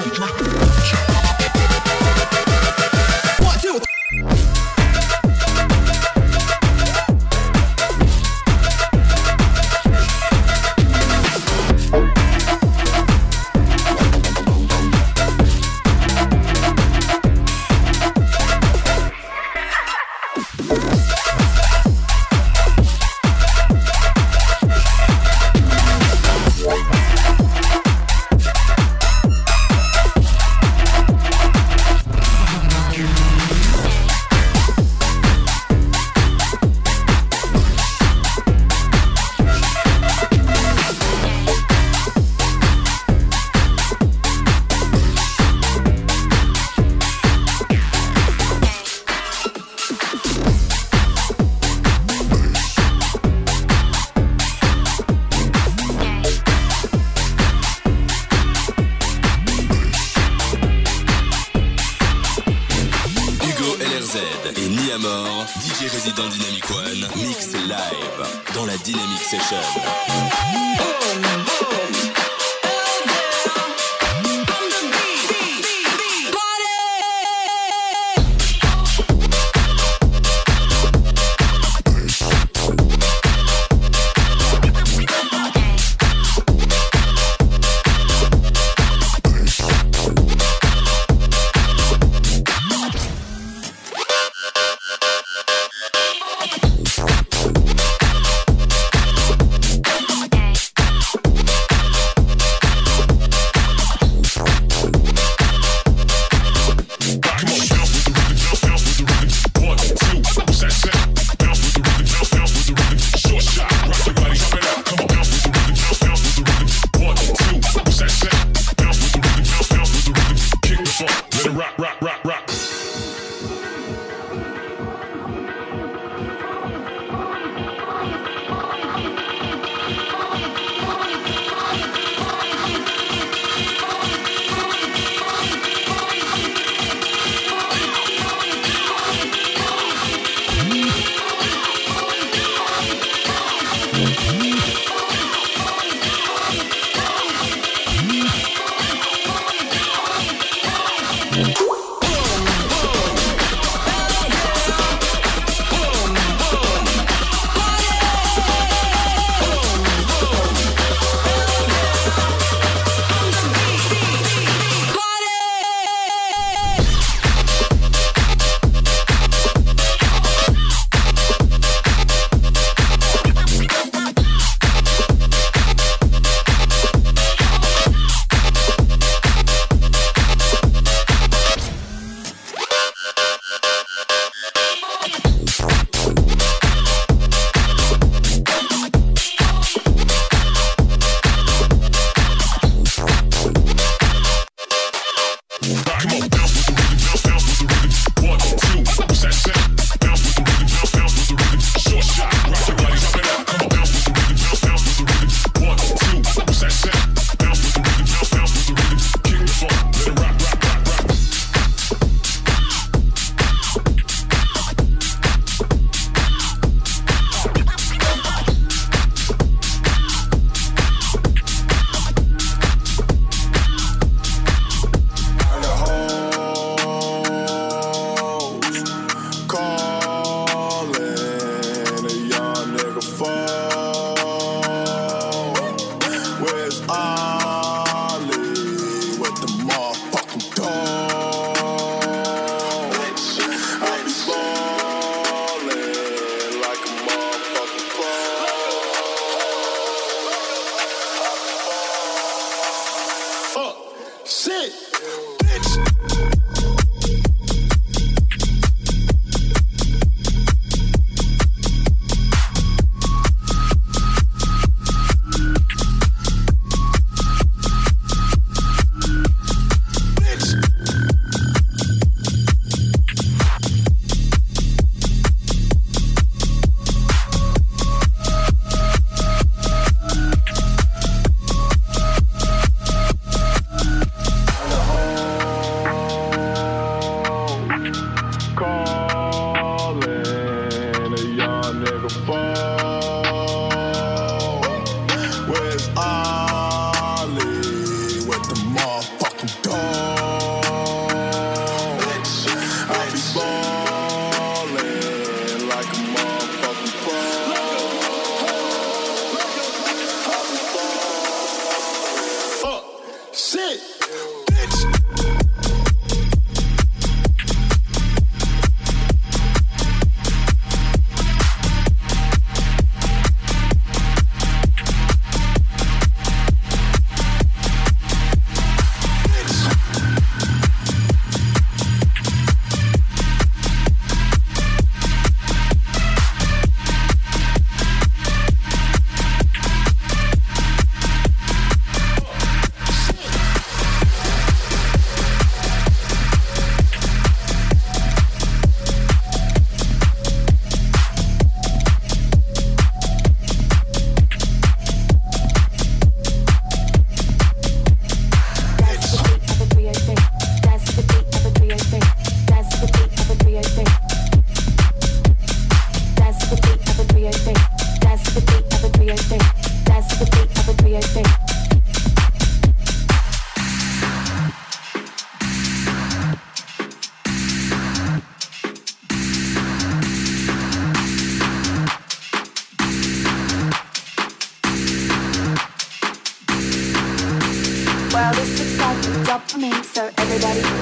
DJ résident Dynamic One, mix live dans la Dynamic Session.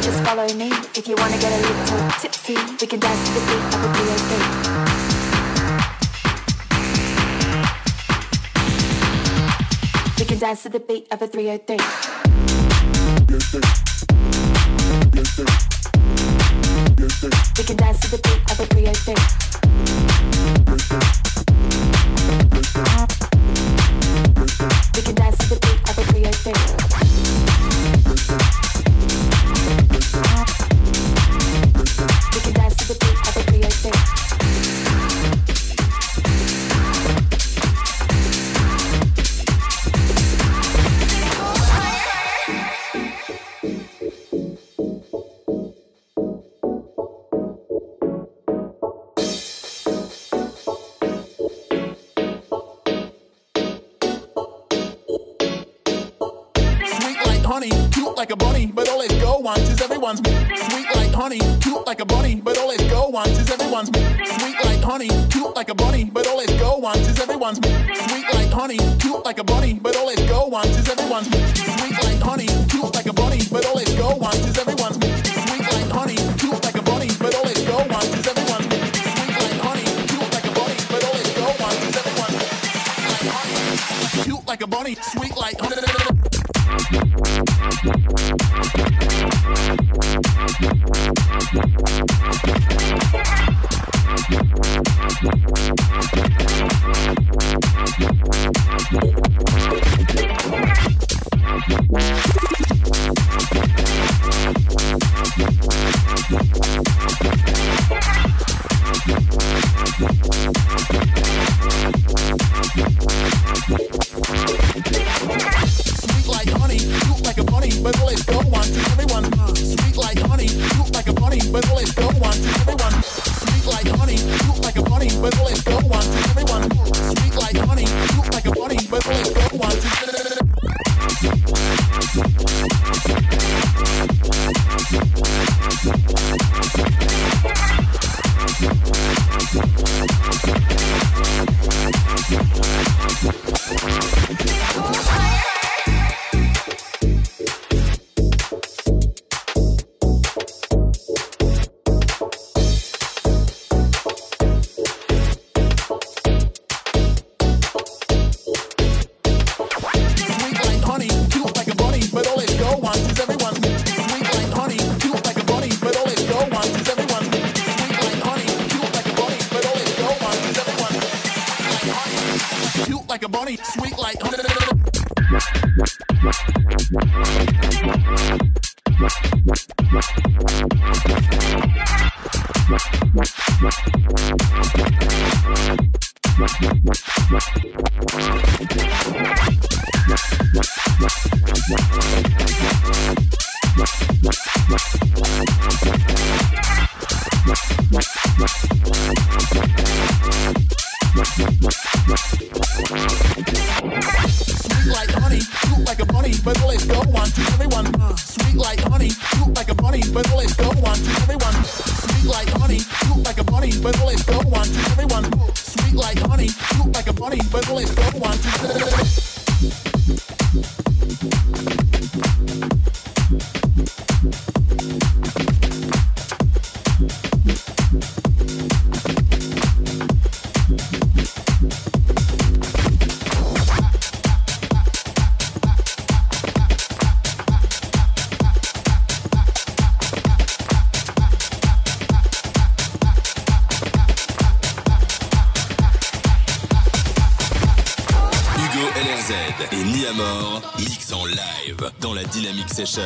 Just follow me if you wanna get a little tipsy. We can dance to the beat of a 303. We can dance to the beat of a 303. We can dance to the beat of a 303. We can dance to the beat of a 303. We can dance to the beat of a 303. Honey, cute like a bunny, but all it go wants is everyone's sweet like honey, cute like a bunny, but all it go wants is everyone's sweet like honey, cute like a bunny, but all it go wants is everyone's sweet like honey, cute like a bunny, but all it go wants is everyone's sweet like honey, cute like a bunny, but all it go wants is everyone's sweet like honey, cute like a bunny, but all it go wants is everyone's sweet like honey, cute like a bunny, but all it go wants is everyone's cute like a bunny, sweet like honey. Et Niamor mix en live dans la Dynamic Session.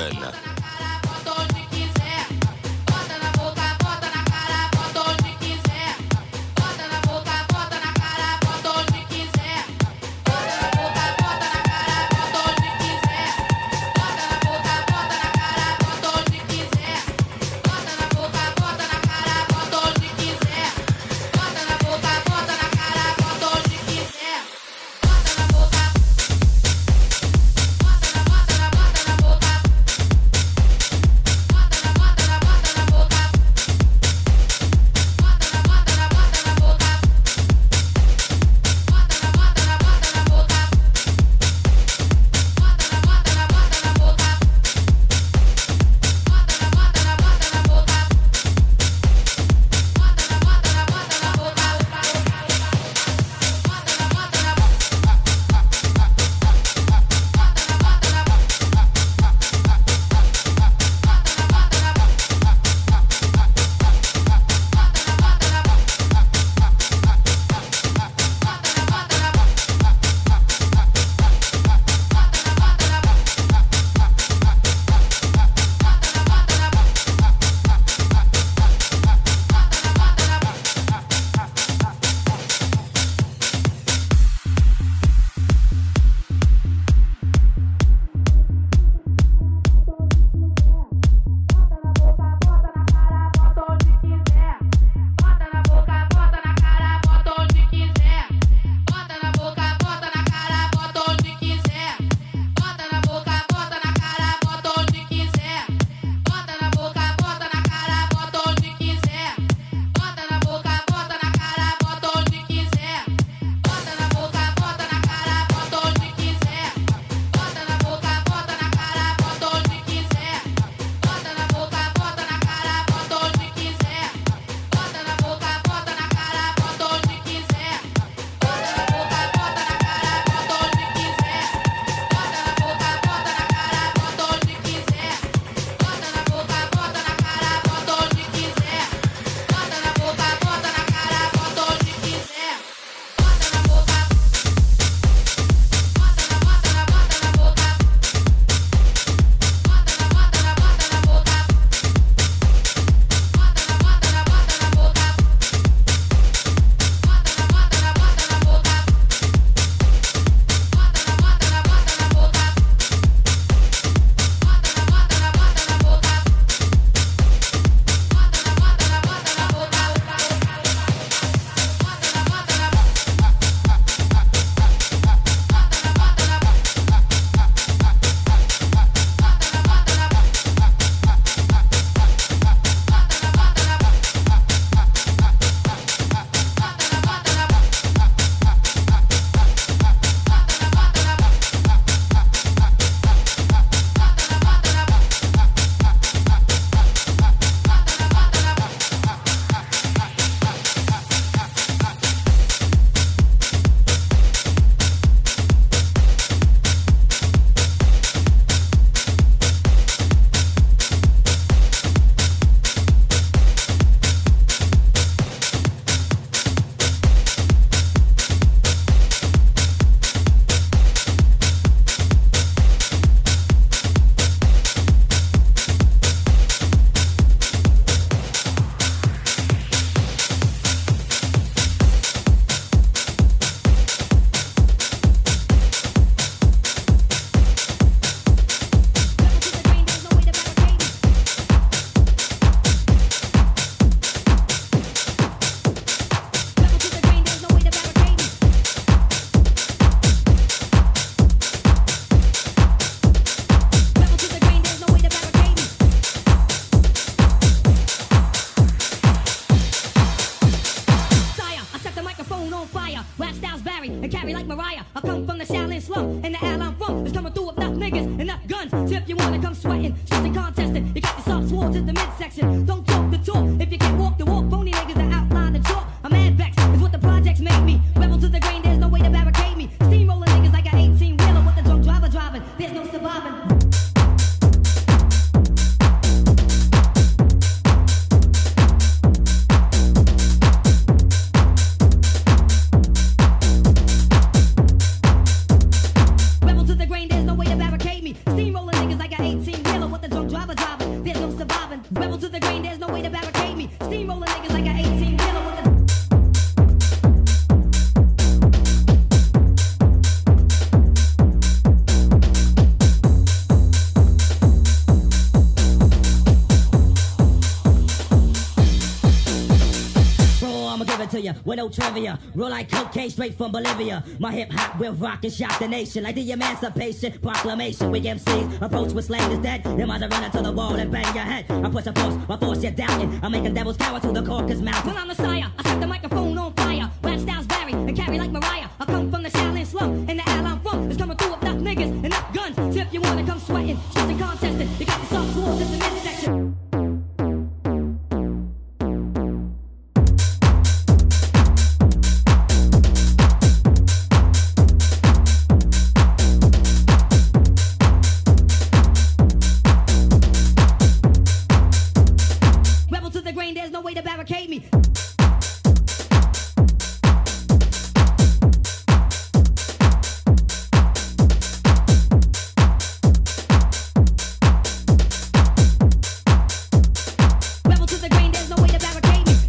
Rebel to the grain, there's no way to barricade me. Steamroller niggas like an 18 killer with a to you with no trivia. Roll like cocaine straight from Bolivia. My hip hop will rock and shock the nation like the Emancipation Proclamation. We MCs approach with slang is dead. You might run into the wall and bang your head. I push a force, my force you're doubting. I'm making devils cower to the caucus mouth. When I'm the sire, I set the microphone on fire. Rap styles vary and carry like Mariah. I come from the Shaolin slum and the alley I'm from is coming through with enough niggas, enough guns. So if you wanna come sweating, stressing, contesting, you got the soft swords in the midsection. There's no way to barricade me. Rebel to the grain, there's no way to barricade me.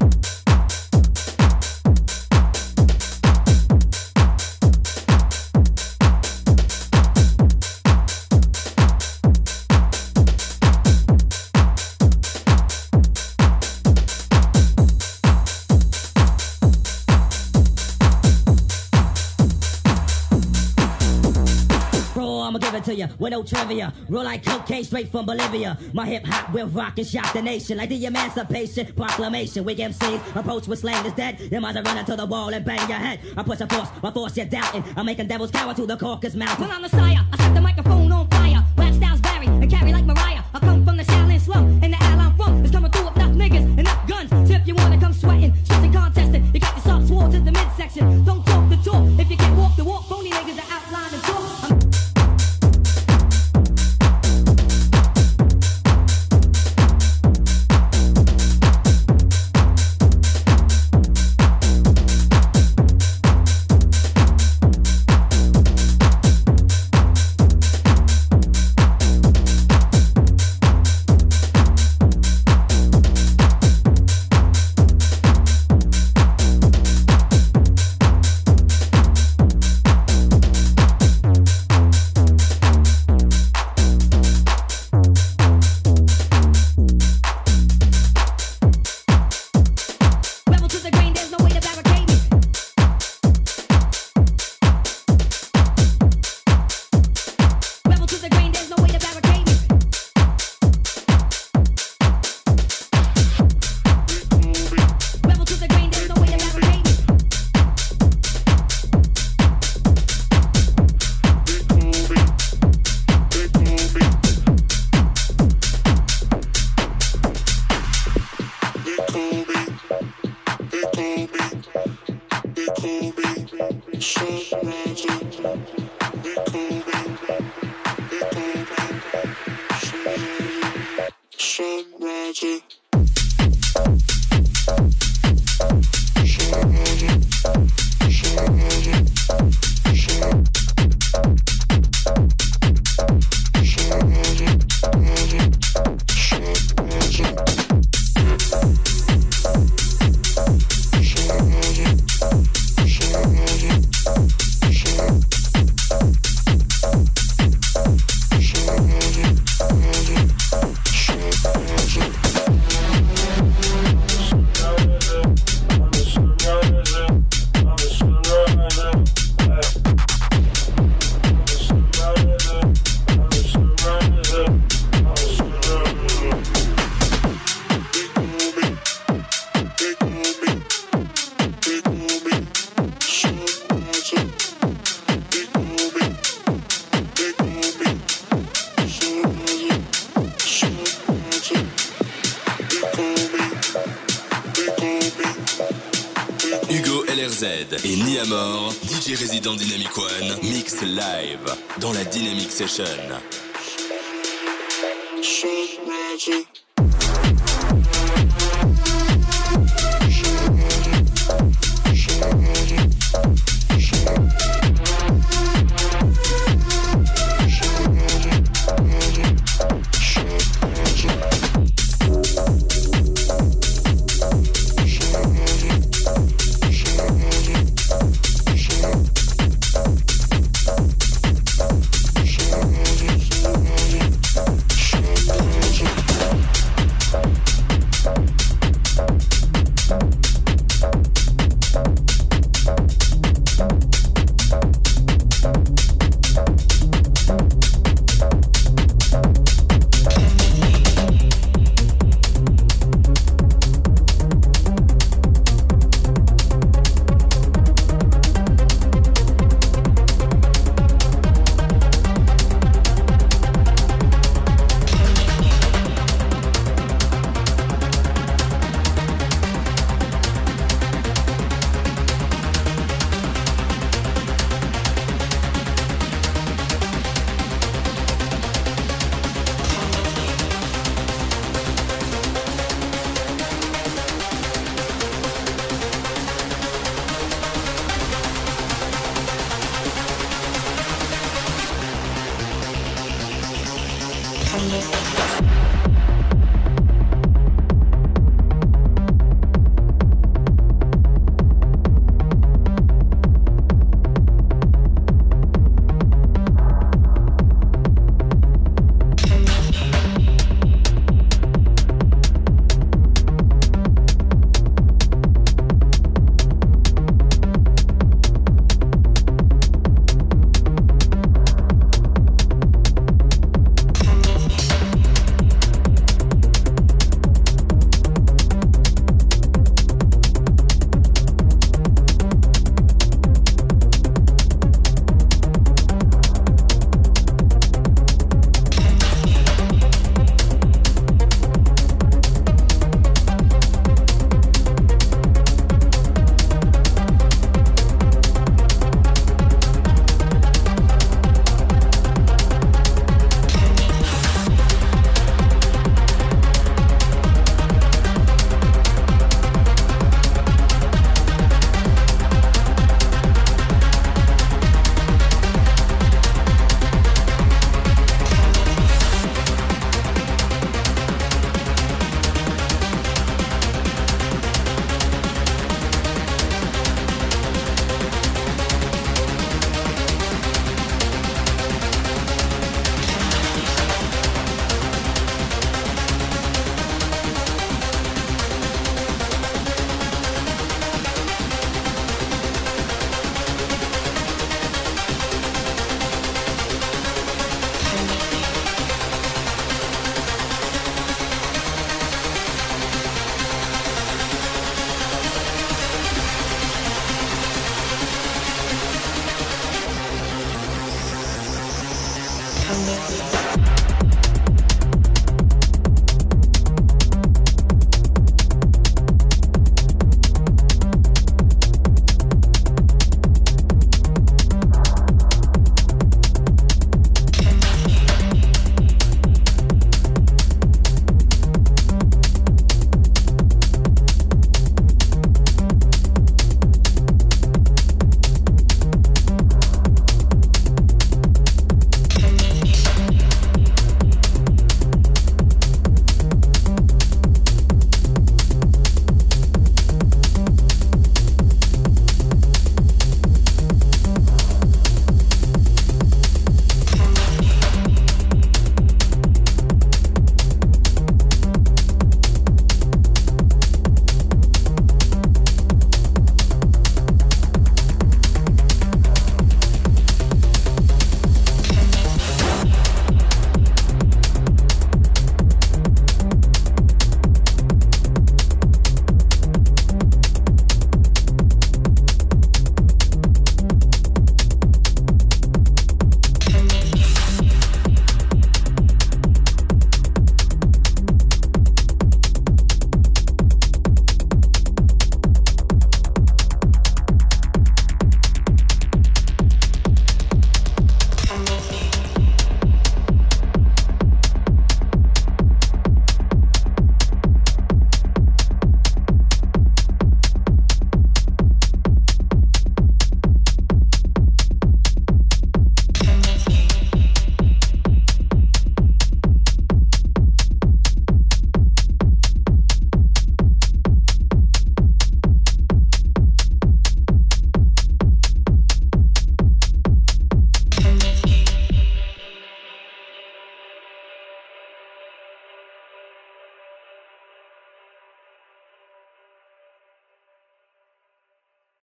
I'ma give it to you with no trivia. Roll like cocaine straight from Bolivia. My hip hop will rock and shock the nation like the Emancipation Proclamation. We MCs approach with slang is dead. You might run into the wall and bang your head. I push a force, my force you're doubting. I'm making devils cower to the caucus mouth. When I'm the sire, I set the microphone on fire. Rap styles vary and carry like Mariah. I come from the Shaolin slum and the alley I'm from is coming through with enough niggas, enough guns. So if you wanna come sweating, stressing, contesting, you got the soft swords in the midsection. Don't talk the talk if you can't walk the walk. Phony niggas are outline and talk. Et Niamor, DJ résident Dynamic One, mix live dans la Dynamic Session.